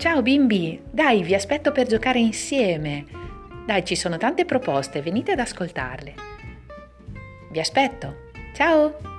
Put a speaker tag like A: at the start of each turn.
A: Ciao bimbi, dai, vi aspetto per giocare insieme. Dai, ci sono tante proposte, venite ad ascoltarle. Vi aspetto. Ciao!